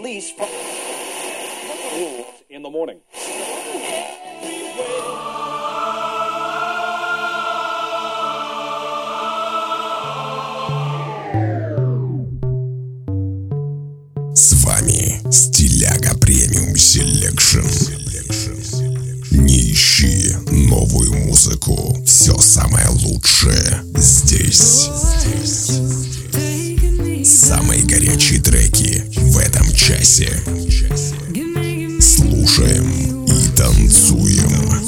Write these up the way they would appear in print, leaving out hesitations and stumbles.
release from in the morning. С вами Стиляга Премиум Селекшн. Не ищи новую музыку, все самое лучшее здесь. Самые горячие треки в этом часе. Слушаем и танцуем.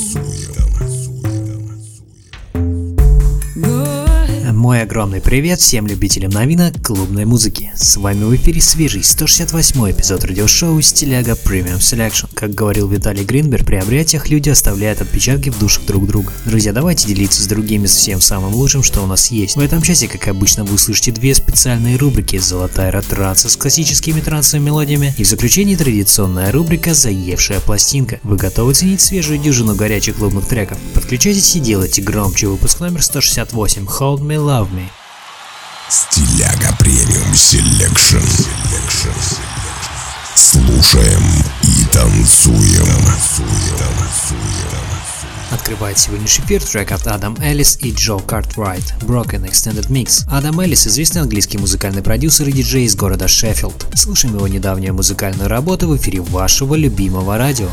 Мой огромный привет всем любителям новинок клубной музыки. С вами в эфире свежий 168-й эпизод радиошоу Стиляга Premium Selection. Как говорил Виталий Гринберг, при объятиях люди оставляют отпечатки в душах друг друга. Друзья, давайте делиться с другими всем самым лучшим, что у нас есть. В этом часе, как обычно, вы услышите две специальные рубрики: «Золотая ретранса» с классическими трансовыми мелодиями, и в заключении традиционная рубрика «Заевшая пластинка». Вы готовы ценить свежую дюжину горячих клубных треков? Подключайтесь и делайте громче. Выпуск номер 168. Hold Me, Love Me. Стиляга Премиум Селекшн. Слушаем и танцуем. Открывает сегодняшний эфир трек от Адам Эллис и Джо Картрайт «Broken Extended Mix». Адам Эллис – известный английский музыкальный продюсер и диджей из города Шеффилд. Слушаем его недавнюю музыкальную работу в эфире вашего любимого радио.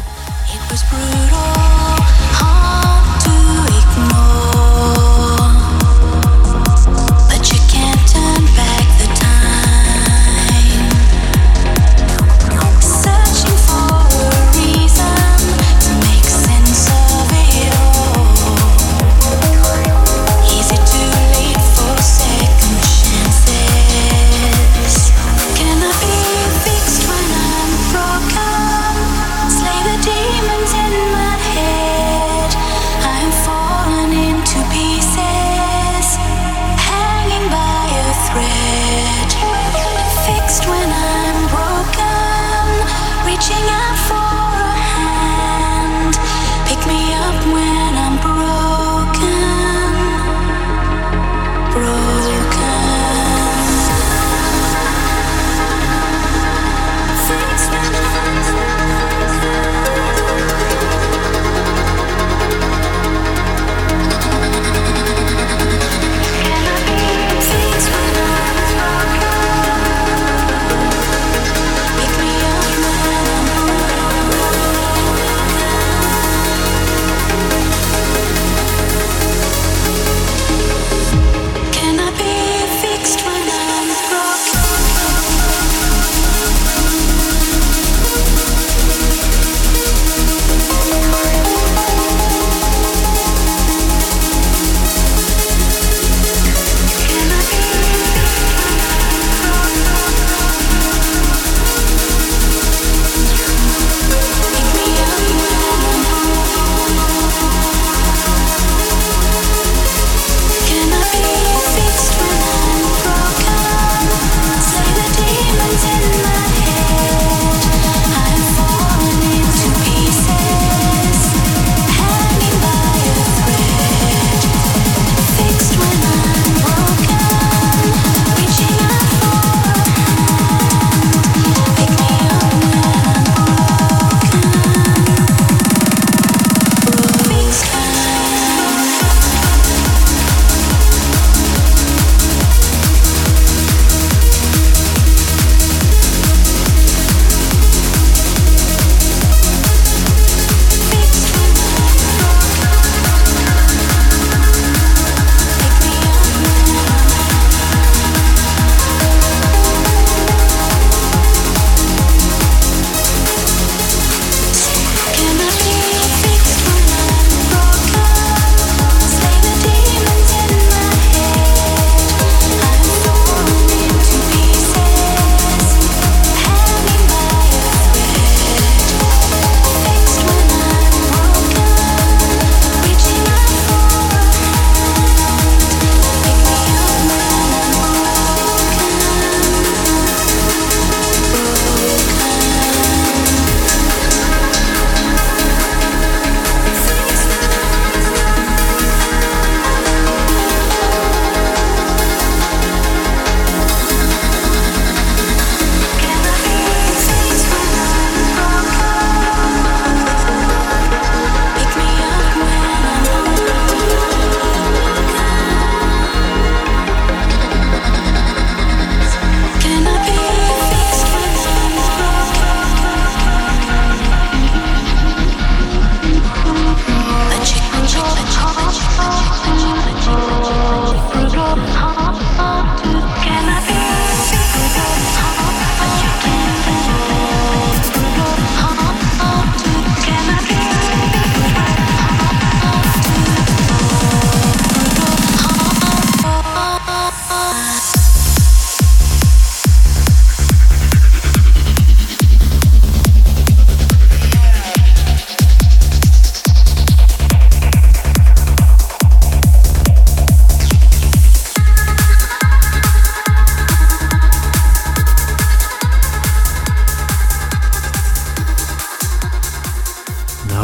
Demons in my head.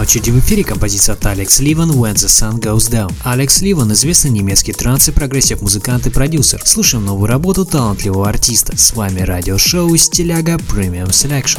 очереди в эфире композиция от Алекс Ливан «When the Sun Goes Down». Алекс Ливан – известный немецкий транс и прогрессив музыкант и продюсер. Слушаем новую работу талантливого артиста. С вами радиошоу «Стиляга Premium Selection».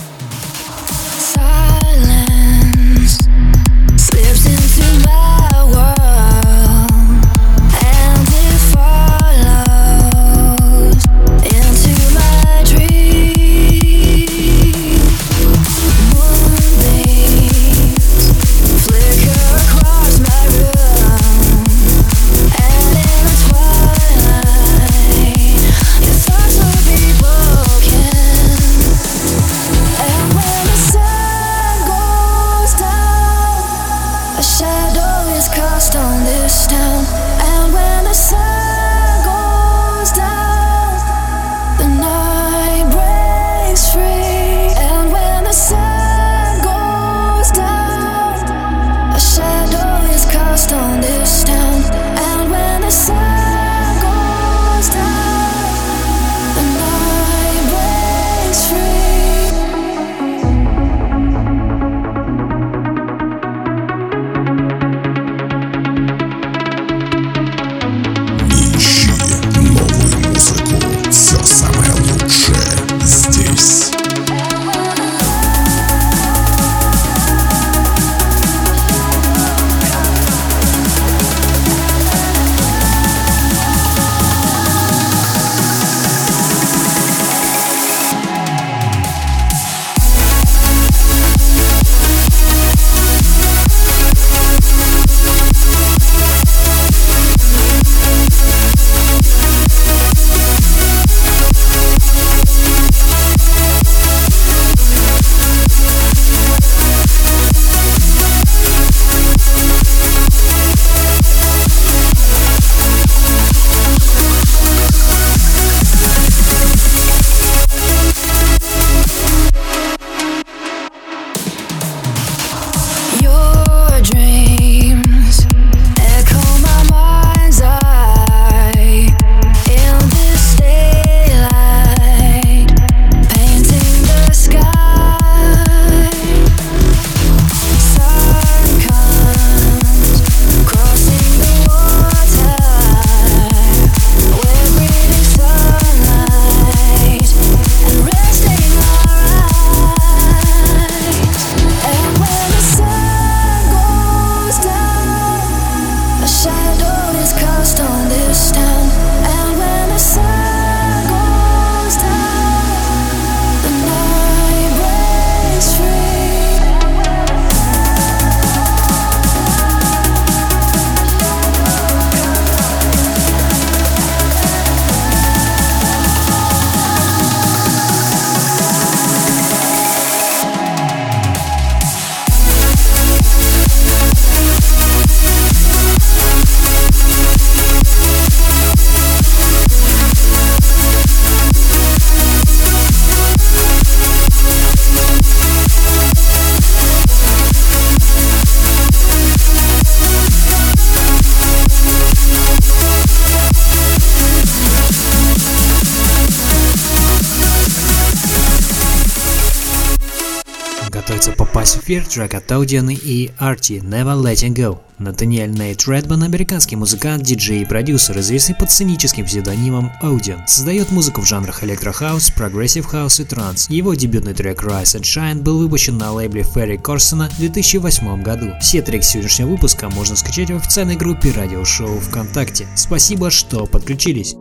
попасть в эфир трек от Audien и Artie «Never Letting Go». Натаниэль Нейт Редман, американский музыкант, диджей и продюсер, известный под сценическим псевдонимом Audien, создает музыку в жанрах электрохаус, прогрессив хаус и транс. Его дебютный трек Rise and Shine был выпущен на лейбле Ferry Corsten в 2008 году. Все треки сегодняшнего выпуска можно скачать в официальной группе радиошоу ВКонтакте. Спасибо, что подключились.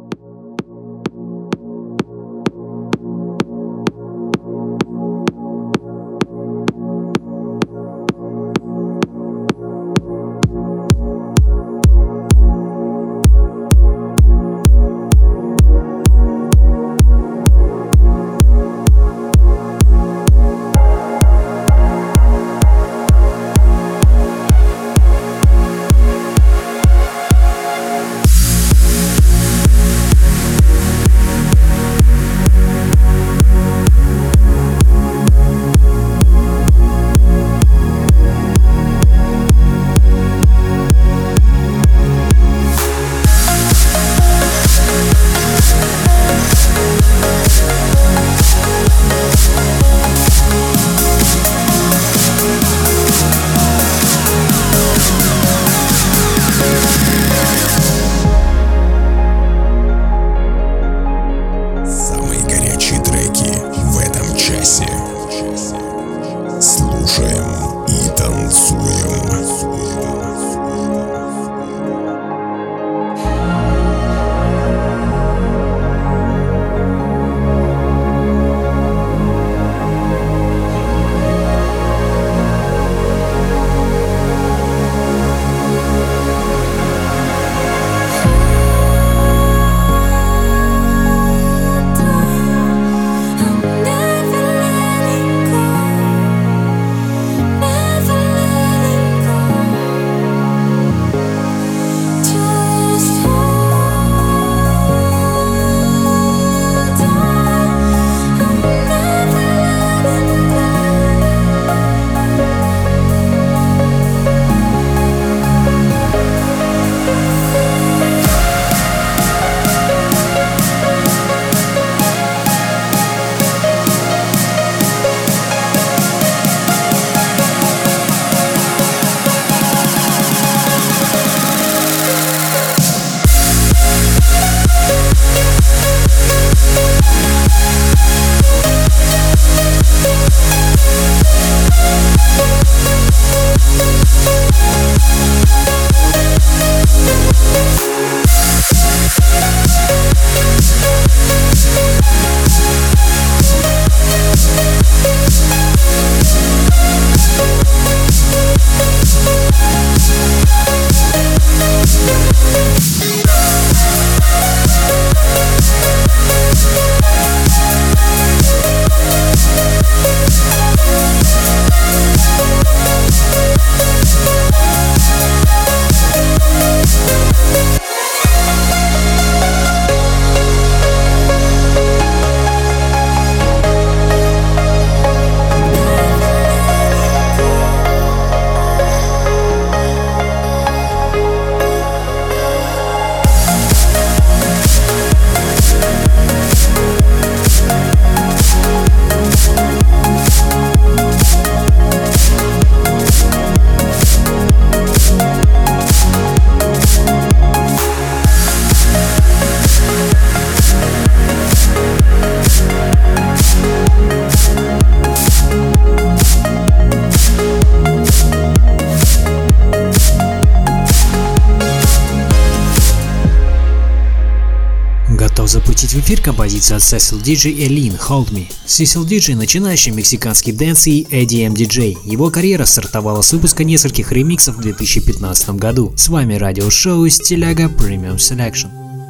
готов запустить в эфир композицию от Cecil DJ и Lin Hold Me. Cecil DJ – начинающий мексиканский дэнс и EDM диджей. Его карьера стартовала с выпуска нескольких ремиксов в 2015 году. С вами радиошоу Стиляга Premium Selection.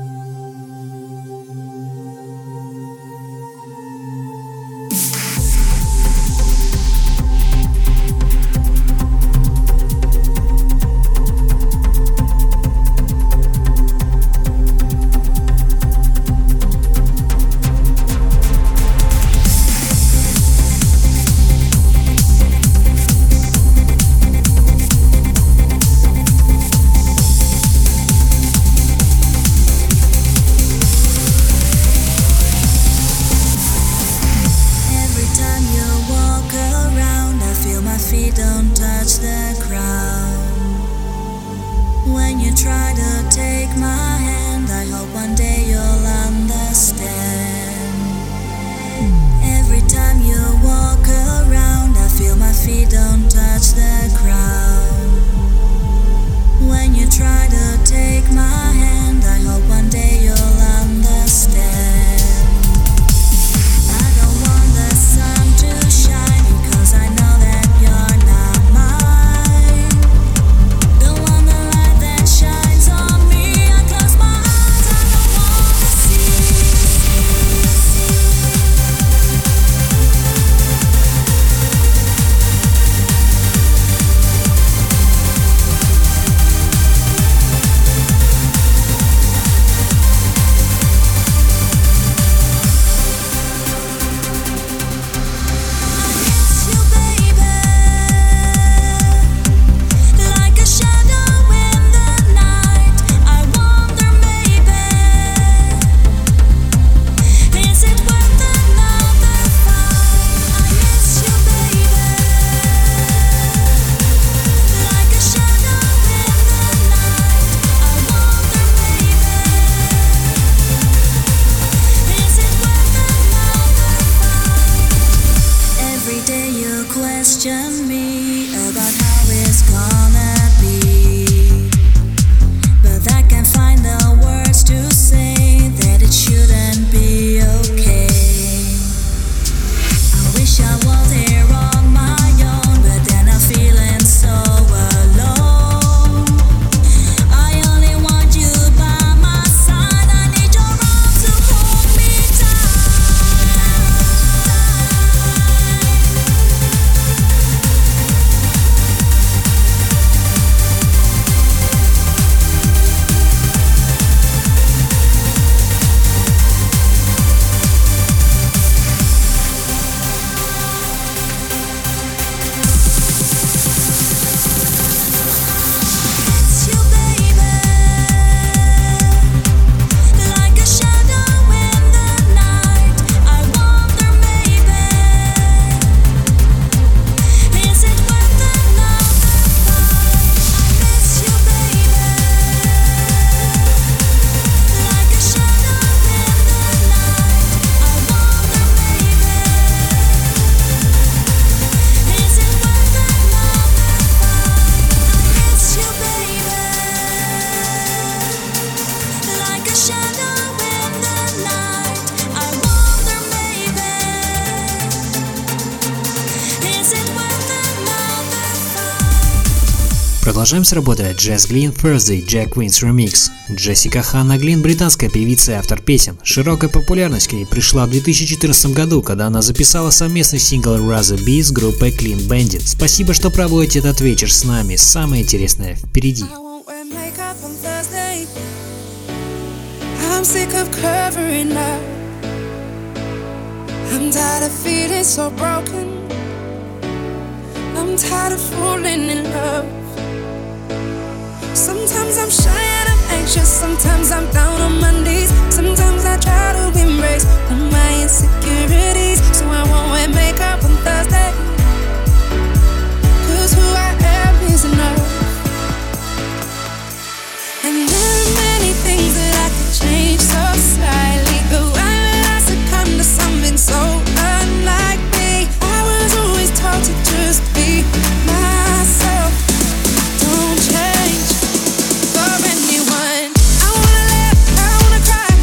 Продолжаем с работой Jess Glynn Thursday Jack Wins Remix. Джессика Ханна Глин – британская певица и автор песен. Широкая популярность к ней пришла в 2014 году, когда она записала совместный сингл Rather Be с группой Clean Bandit. Спасибо, что проводите этот вечер с нами. Самое интересное впереди. Sometimes I'm shy and I'm anxious, sometimes I'm down on my knees. Sometimes I try to embrace all my insecurities, so I won't wear makeup on Thursday, 'cause who I am is enough. And there are many things that I could change so slightly, but why would I succumb to something so unlike me? I was always taught to just be myself. Don't change for anyone. I wanna laugh, I wanna cry,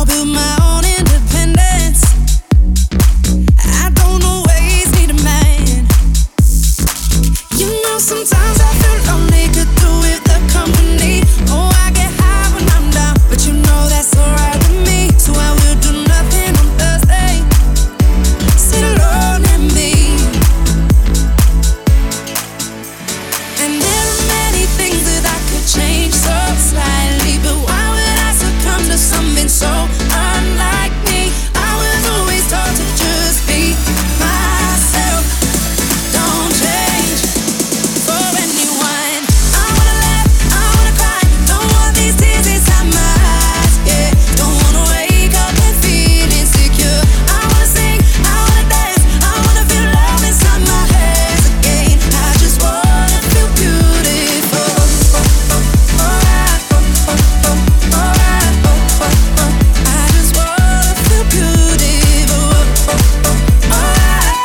build my own independence. I don't always need a man. You know, sometimes I feel lonely, could do with the company. Oh, I get high when I'm down, but you know that's alright with me. So I will do nothing on Thursday. Sit alone and me. And there are many things that I could change so slightly, but why would I succumb to something so unlike me? I was always taught to just be myself. Don't change for anyone. I wanna laugh, I wanna cry, don't want these tears inside my eyes. Yeah, don't wanna wake up and feel insecure. I wanna sing, I wanna dance, I wanna feel love inside my hands again. I just wanna feel beautiful. Alright, alright, I just wanna feel beautiful. Alright,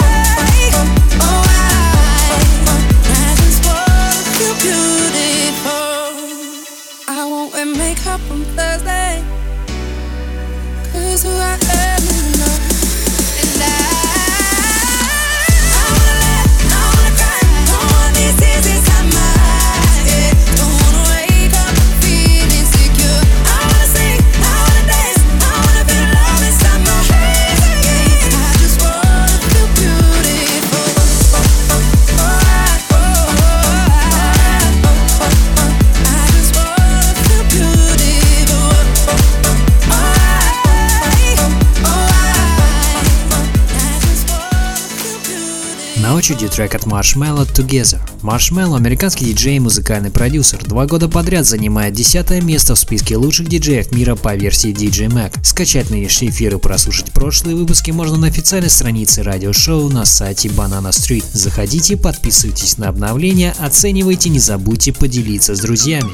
I just wanna feel beautiful. I won't wear makeup on Thursday, 'cause who I am is enough. And I wanna laugh, I wanna cry, don't want these tears inside my eyes. Yeah, don't wanna wake up and feel insecure. I wanna sing, I wanna dance, I wanna feel love inside my hands again. I just wanna feel beautiful. Alright, I just wanna feel beautiful. Alright, I just wanna feel beautiful. На очереди трек от Marshmello «Together». Marshmello – американский диджей и музыкальный продюсер. 2 года подряд занимает 10-е место в списке лучших диджеев мира по версии DJ Mag. Скачать нынешний эфир и прослушать прошлые выпуски можно на официальной странице радиошоу на сайте Banana Street. Заходите, подписывайтесь на обновления, оценивайте, не забудьте поделиться с друзьями.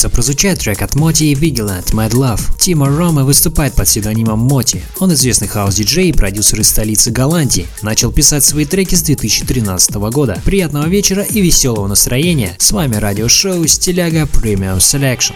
что прозвучает трек от Моти и Vigilant Mad Love. Тимо Рома выступает под псевдонимом Моти. Он известный хаус-диджей и продюсер из столицы Голландии. Начал писать свои треки с 2013 года. Приятного вечера и веселого настроения. С вами радиошоу Стиляга Premium Selection.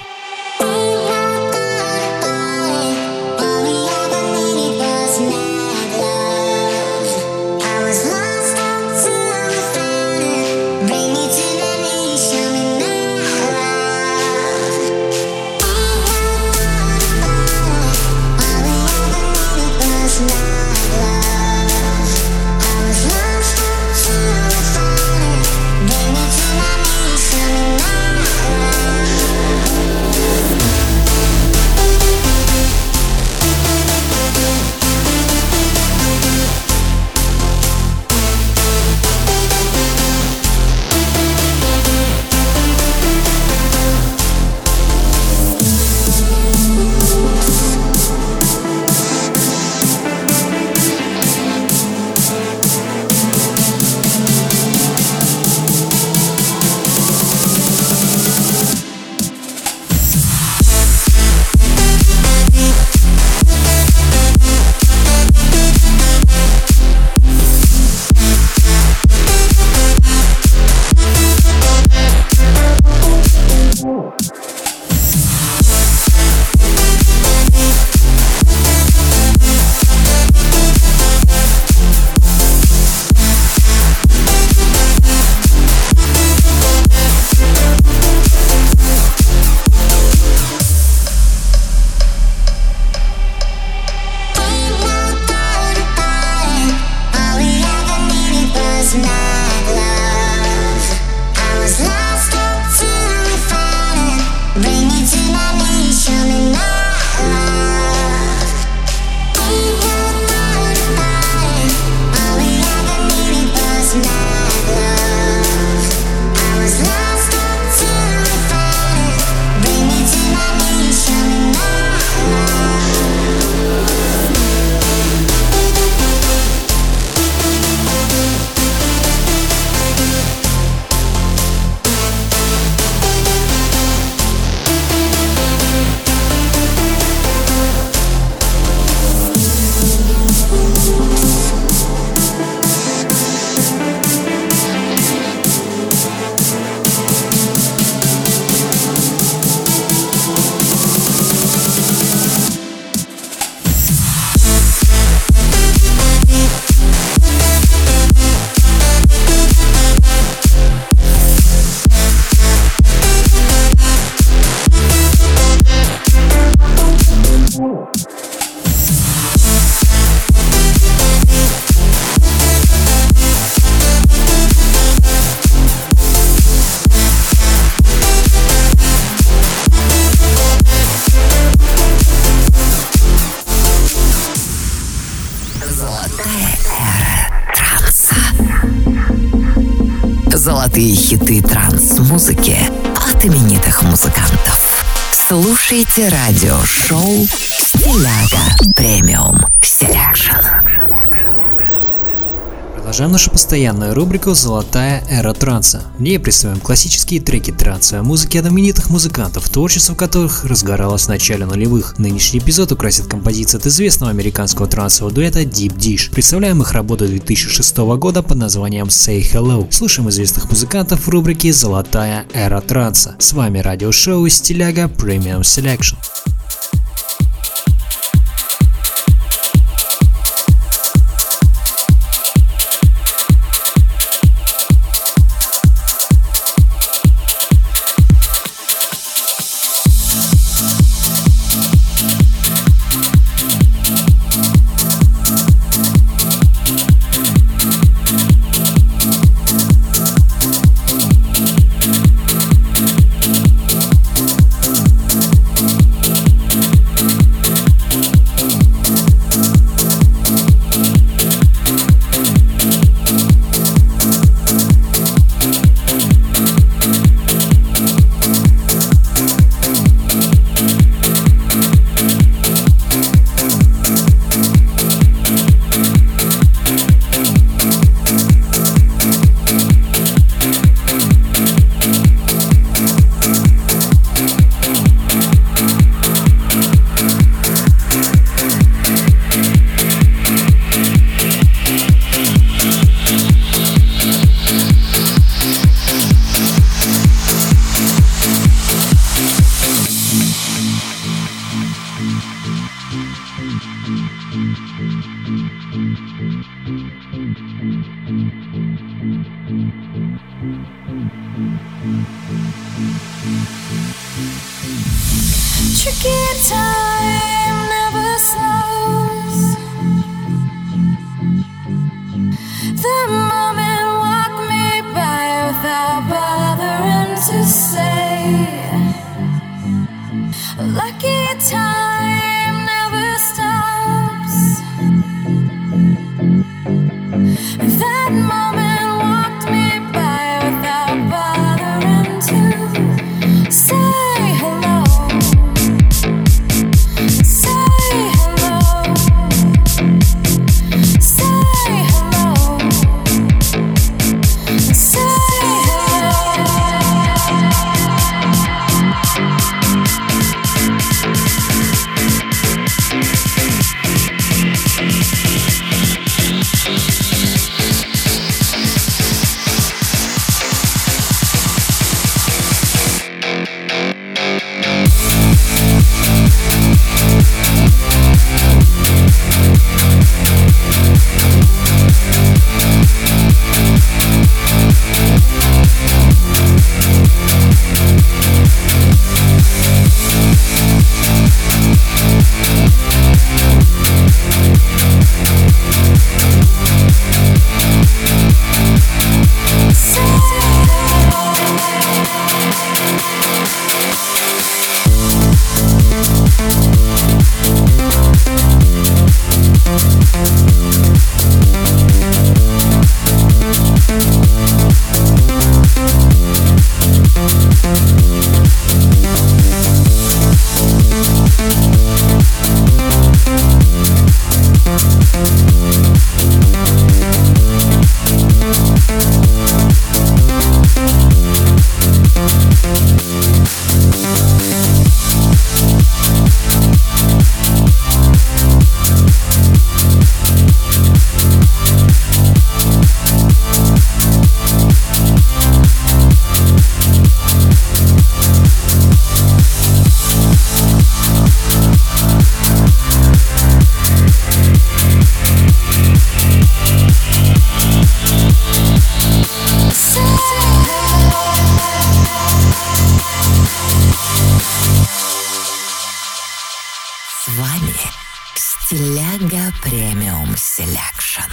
Золотые хиты транс-музыки от именитых музыкантов. Слушайте радиошоу Стиляга Premium Selection. Продолжаем нашу постоянную рубрику «Золотая эра транса». В ней представим классические треки трансовой музыки от именитых музыкантов, творчество которых разгоралось в начале нулевых. Нынешний эпизод украсит композиция от известного американского трансового дуэта Deep Dish. Представляем их работу 2006 года под названием Say Hello. Слушаем известных музыкантов в рубрике «Золотая эра транса». С вами радиошоу Стиляга Premium Selection. Tricky time never slows. The moment walk me by without bothering to say. Lucky time never stops. That moment walked me by without bothering to say hello. Say hello. Say hello. Say С вами Стиляга Премиум Селекшн.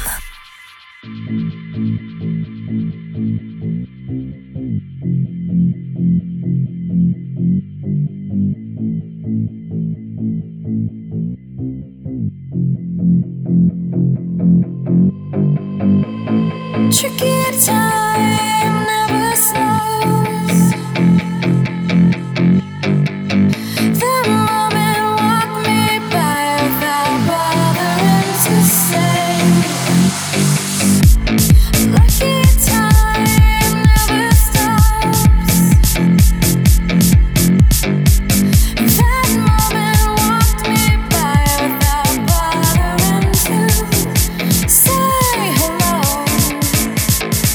tricky time never slows. The moment walk me by without bothering to say. Lucky time never stops. That moment walked me by without bothering to say hello.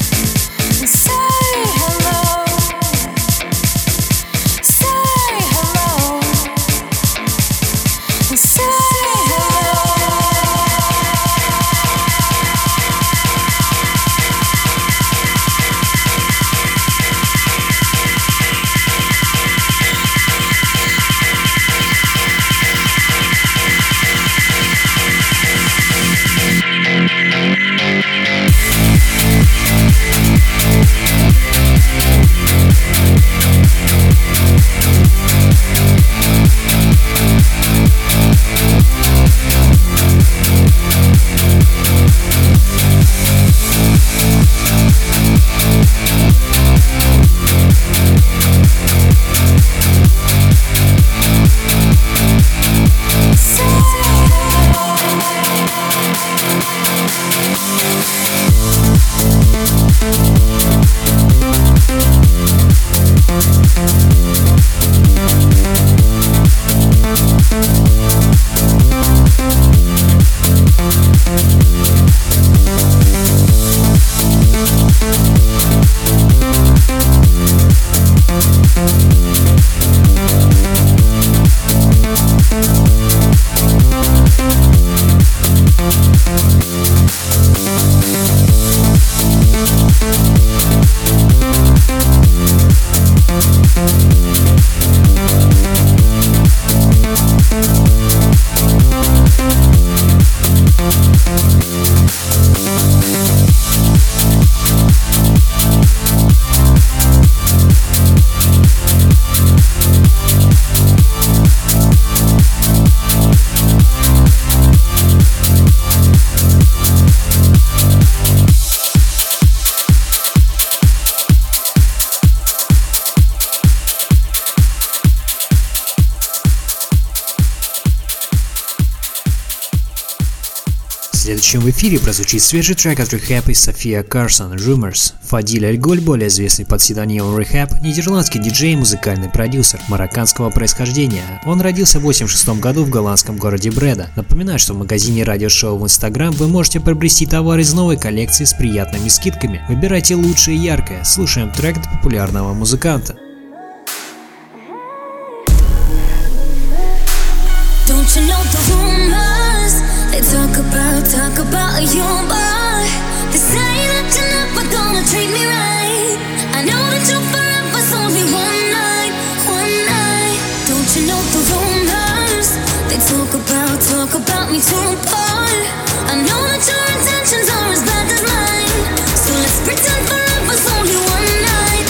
следующем в эфире прозвучит свежий трек от Rehab и София Карсон «Rumors». Фадиль Аль-Голь, более известный под псевдонимом Rehab, нидерландский диджей и музыкальный продюсер марокканского происхождения. Он родился в 1986 году в голландском городе Бреда. Напоминаю, что в магазине радиошоу в Instagram вы можете приобрести товар из новой коллекции с приятными скидками. Выбирайте лучшее и яркое. Слушаем трек от популярного музыканта. Don't you know the rumors? They talk about you, boy. They say that you're never gonna treat me right. I know that you're forever's only one night. Don't you know the rumors? They talk about me too, boy. I know that your intentions are as bad as mine. So let's pretend forever's only one night.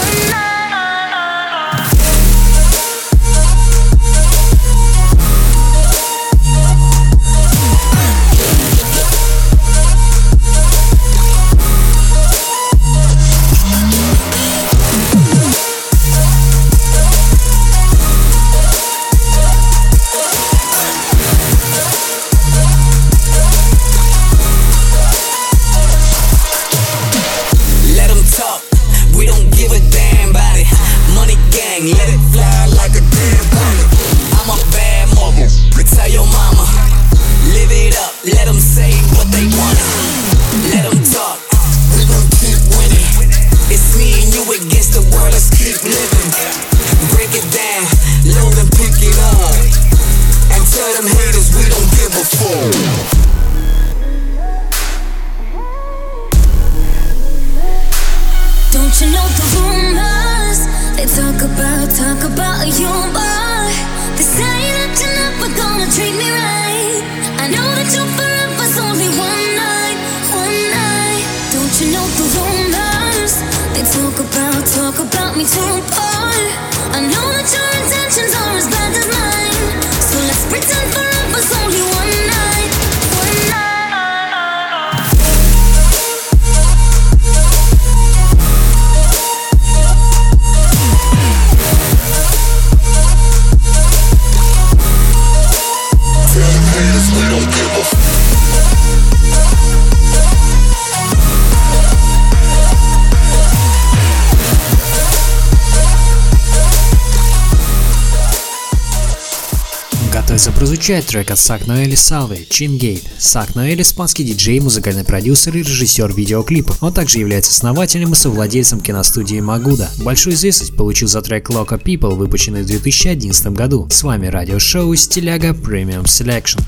Let it fly like a damn plane. I'm a bad mother. Tell your mama. Live it up. Let them say what they want. Let them talk. We gon' keep winning. It's me and you against the world. Let's keep living. Break it down. Load and pick it up. And tell them haters we don't give a fuck. Don't you know the rumors? They talk about you, boy. They say that you're never gonna treat me right. I know that you're forever's only one night. Don't you know the rumors? They talk about me too, boy. I know that your intentions are as bad as mine. So let's pretend forever's only one night. Готовится прозвучать трек от Сак Ноэль и Салвы «Чингейт». Сак Ноэль – испанский диджей, музыкальный продюсер и режиссер видеоклипов. Он также является основателем и совладельцем киностудии Магуда. Большую известность получил за трек Loco People, выпущенный в 2011 году. С вами радиошоу Стиляга Premium Selection.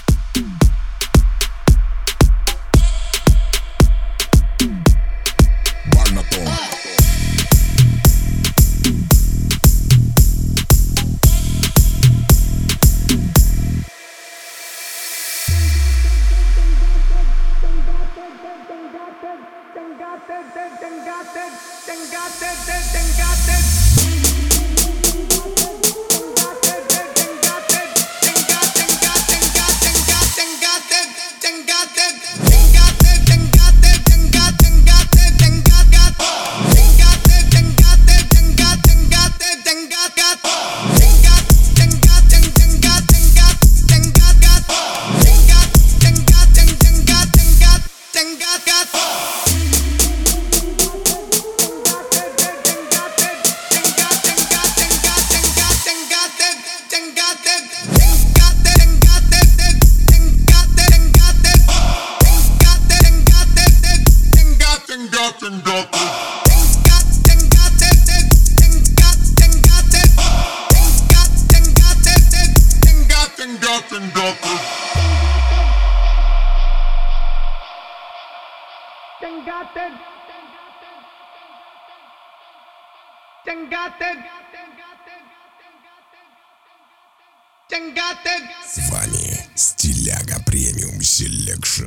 С вами Стиляга Премиум Селекшн.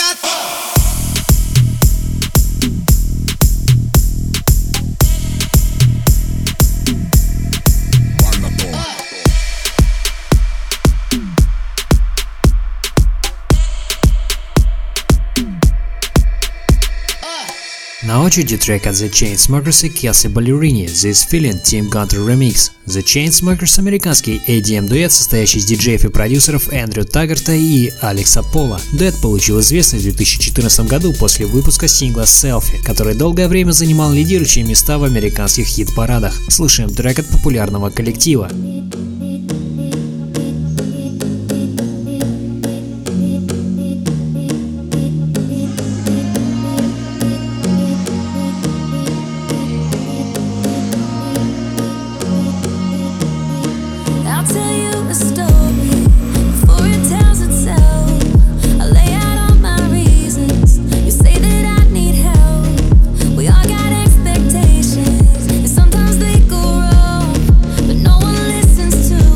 На очереди трек от The Chainsmokers и Kelsey Ballerini This Feeling Tim Gunter Remix. The Chainsmokers – американский EDM-дуэт, состоящий из диджеев и продюсеров Эндрю Таггарта и Алекса Пола. Дуэт получил известность в 2014 году после выпуска сингла Selfie, который долгое время занимал лидирующие места в американских хит-парадах. Слушаем трек от популярного коллектива. Sometimes they go wrong, but no one listens to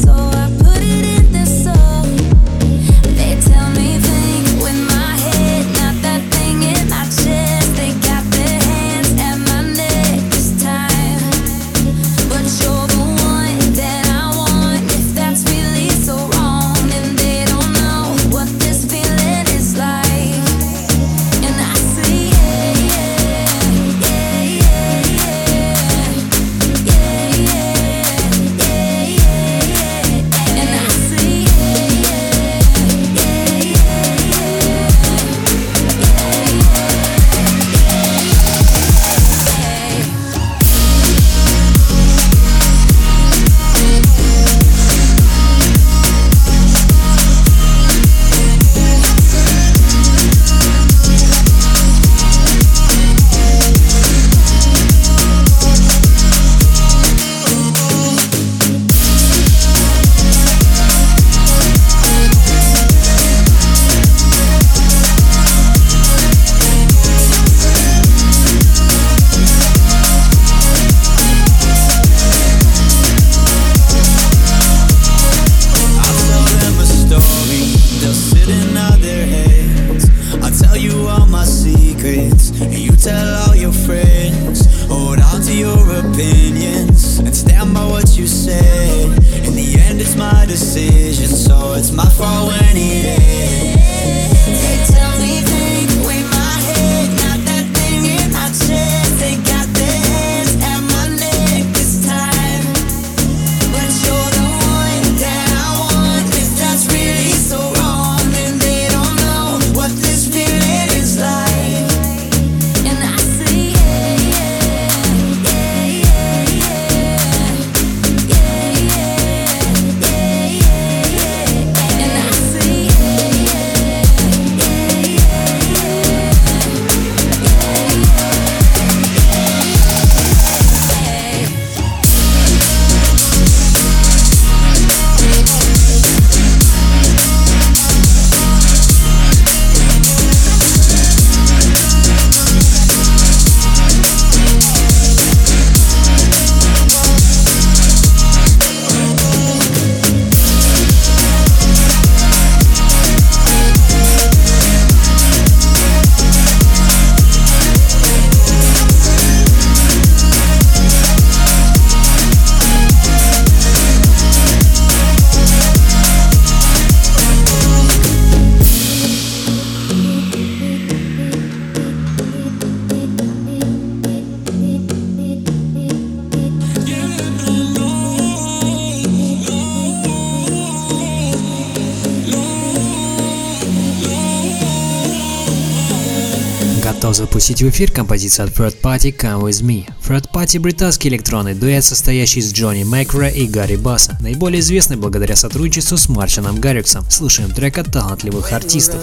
Готов запустить в эфир композицию от Third Party Come With Me. Third Party – британский электронный дуэт, состоящий из Джонни Макра и Гарри Басса, наиболее известный благодаря сотрудничеству с Мартином Гарриксом. Слушаем трек от талантливых артистов.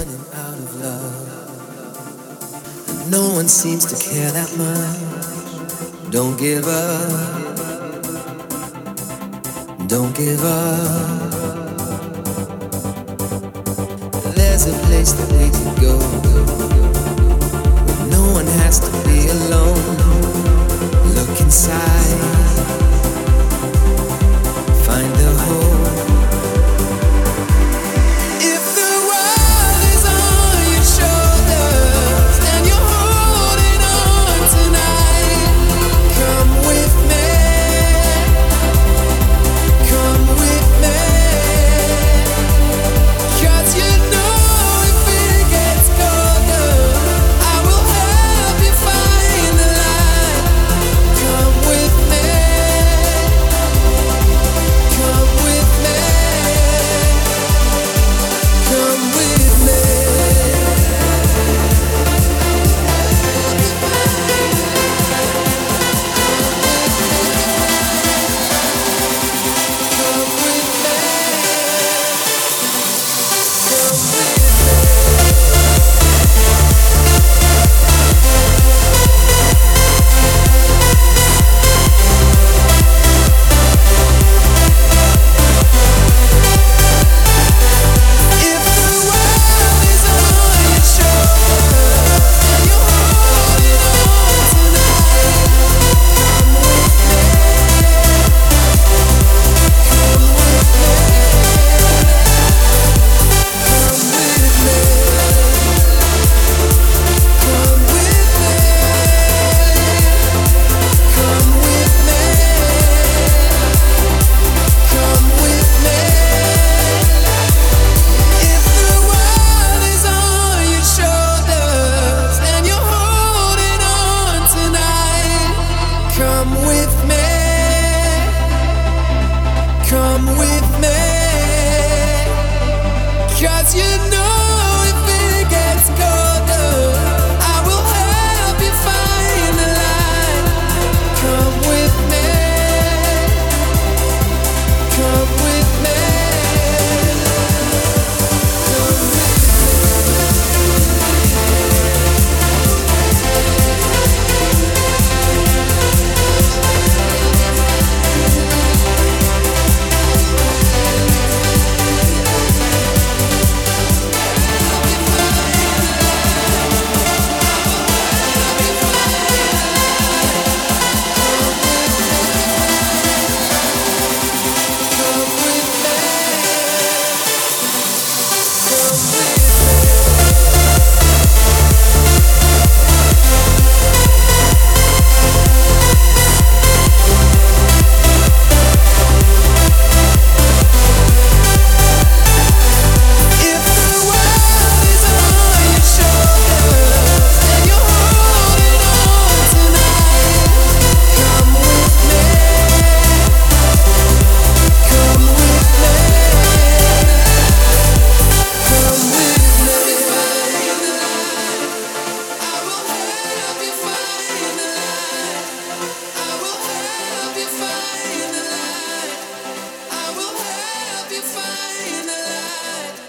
No one seems to care that much. Don't give up. Don't give up. There's a place that we can go. Where no one has to be alone. Look inside. Find the hope. If the world is on your shoulders.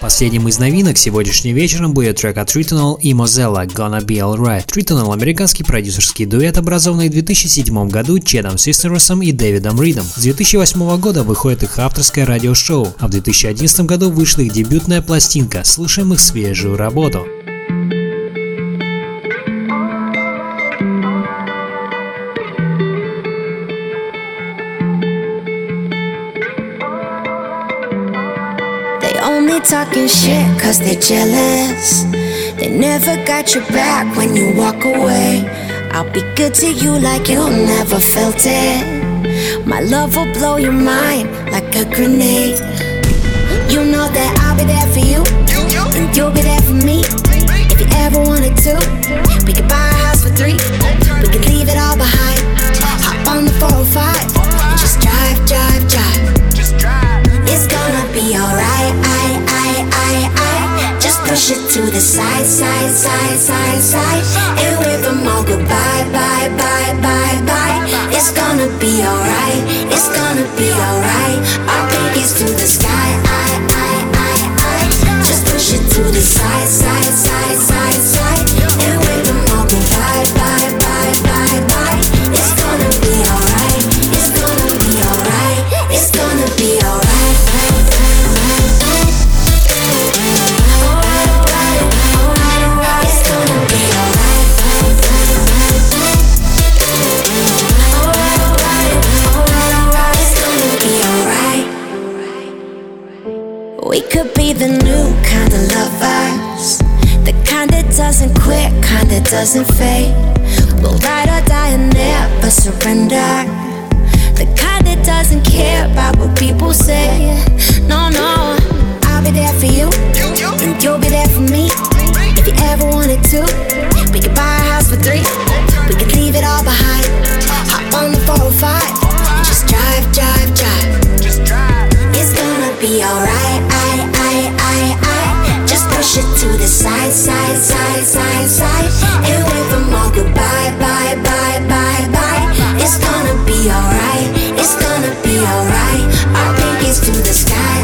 Последним из новинок сегодняшним вечером будет трек от Tritonal и Mozella «Gonna Be Alright». Tritonal – американский продюсерский дуэт, образованный в 2007 году Чедом Систерсом и Дэвидом Ридом. С 2008 года выходит их авторское радиошоу, а в 2011 году вышла их дебютная пластинка. Слушаем их свежую работу. Only talking shit cause they're jealous. They never got your back when you walk away. I'll be good to you like you never felt it. My love will blow your mind like a grenade. You know that I'll be there for you, and you'll be there for me. If you ever wanted to, we could buy a house for 3. We could leave it all behind. Hop on the 405 and just drive, drive, drive. It's gonna be alright, just push it to the side, side, side, side, side, and wave them all goodbye, bye, bye, bye, bye. It's gonna be alright, it's gonna be alright. Our pinkies to the sky, just push it to the side, side, side, side, side, and wave them all goodbye, bye, bye, bye, bye. It's gonna be alright, it's gonna be alright, it's gonna be alright. We could be the new kind of lovers, the kind that doesn't quit, kind that doesn't fade. We'll ride or die and never surrender, the kind that doesn't care about what people say. No, no, I'll be there for you, and you'll be there for me. If you ever wanted to, we could buy a house for 3. We could leave it all behind. Hop on the 405 and just drive, drive, drive. It's gonna be alright, just push it to the side, side, side, side, side, and wave them all goodbye, bye, bye, bye, bye. It's gonna be alright, it's gonna be alright. Our pinkies to the sky,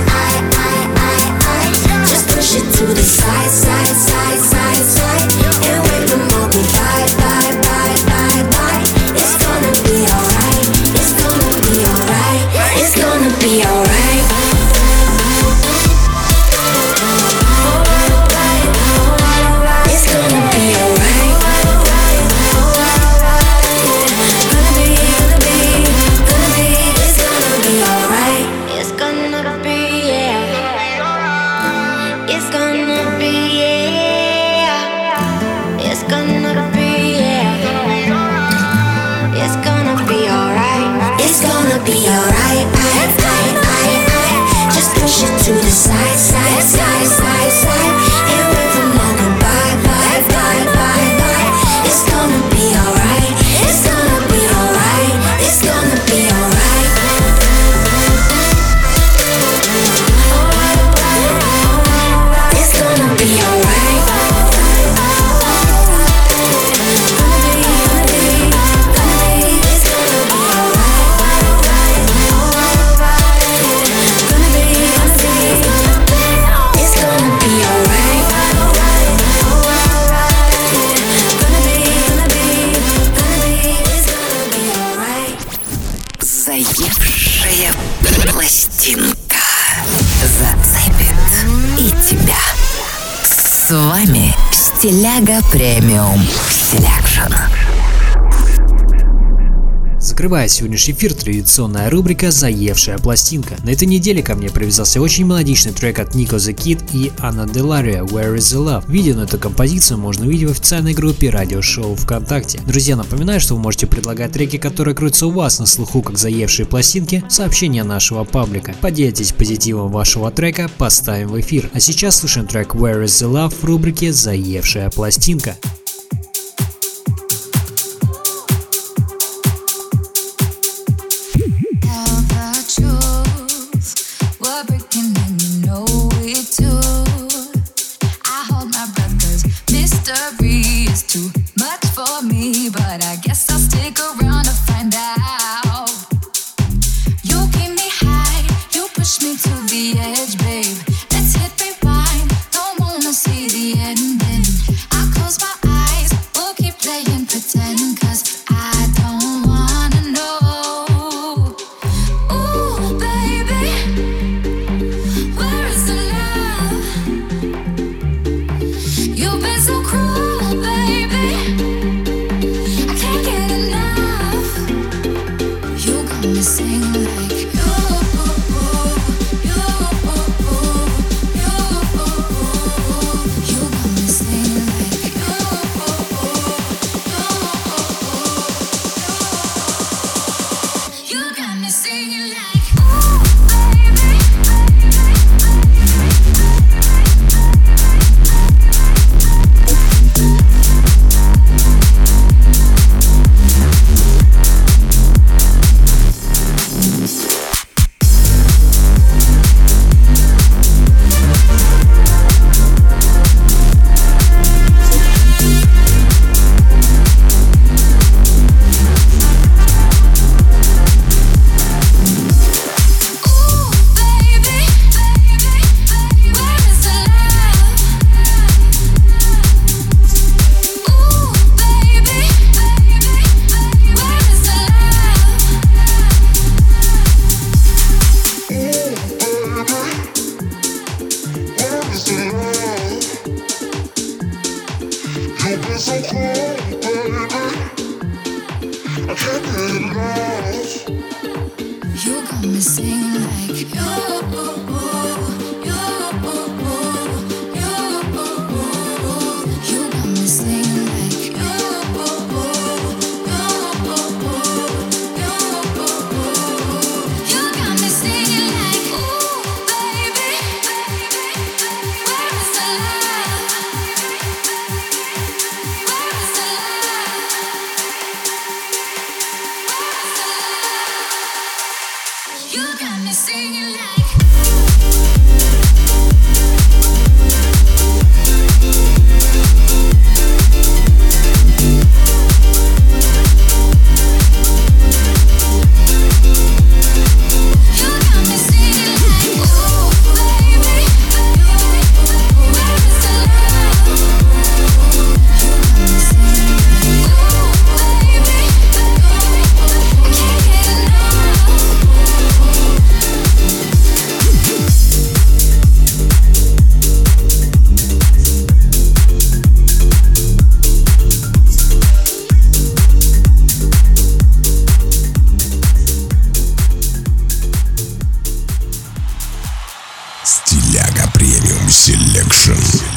just push it to the side, side, side, side, side, and wave them all goodbye, bye, bye, bye, bye. It's gonna be alright, it's gonna be alright, it's gonna be alright. Be alright, just push it to the side, side, side, side, side, and wave them all goodbye, bye, bye, bye, bye. It's gonna be alright, it's gonna be alright, it's gonna be alright. It's gonna be alright. Заевшая пластинка зацепит и тебя. С вами Стиляга Премиум Селекшн. Закрывая сегодняшний эфир, традиционная рубрика «Заевшая пластинка». На этой неделе ко мне привязался очень мелодичный трек от Nico the Kid и Anna Delaria «Where is the Love». Видео на эту композицию можно увидеть в официальной группе радиошоу ВКонтакте. Друзья, напоминаю, что вы можете предлагать треки, которые крутятся у вас на слуху как заевшие пластинки, в сообщения нашего паблика. Поделитесь позитивом вашего трека, поставим в эфир. А сейчас слушаем трек «Where is the Love» в рубрике «Заевшая пластинка». But I guess I'll stick around to find out. You keep me high, you push me to the edge, babe. Let's hit rewind. You've been so cool, baby. I can't get enough. You got me singing like you. You got me singing like you. You got me singing like, ooh, baby, where is the love? Where is the love? You got me singing like. Стиляга премиум селекшн.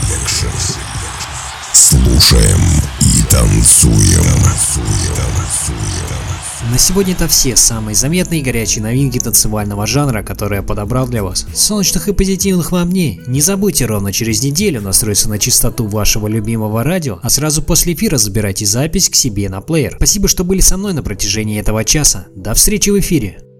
Слушаем и танцуем. На сегодня это все самые заметные и горячие новинки танцевального жанра, которые я подобрал для вас. Солнечных и позитивных вам дней. Не забудьте ровно через неделю настроиться на частоту вашего любимого радио, а сразу после эфира забирайте запись к себе на плеер. Спасибо, что были со мной на протяжении этого часа. До встречи в эфире.